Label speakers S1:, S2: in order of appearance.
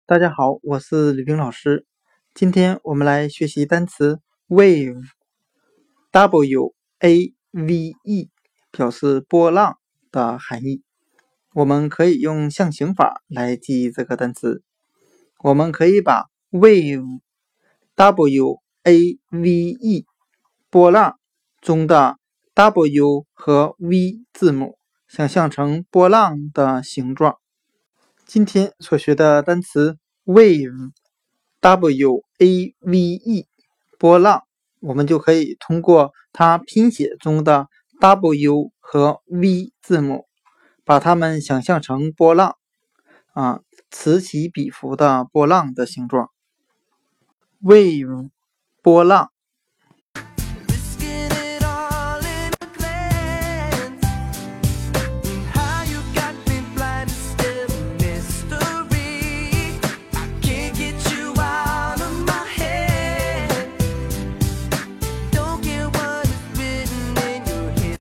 S1: 大家好，我是吕冰老师。今天我们来学习单词 wave，W-A-V-E， 表示波浪的含义。我们可以用象形法来记忆这个单词。我们可以把 wave，W-A-V-E， 波浪中的 W 和 V 字母想象成波浪的形状。今天所学的单词 wave，W-A-V-E， 波浪，我们就可以通过它拼写中的 W 和 V 字母，把它们想象成波浪，此起彼伏的波浪的形状。wave， 波浪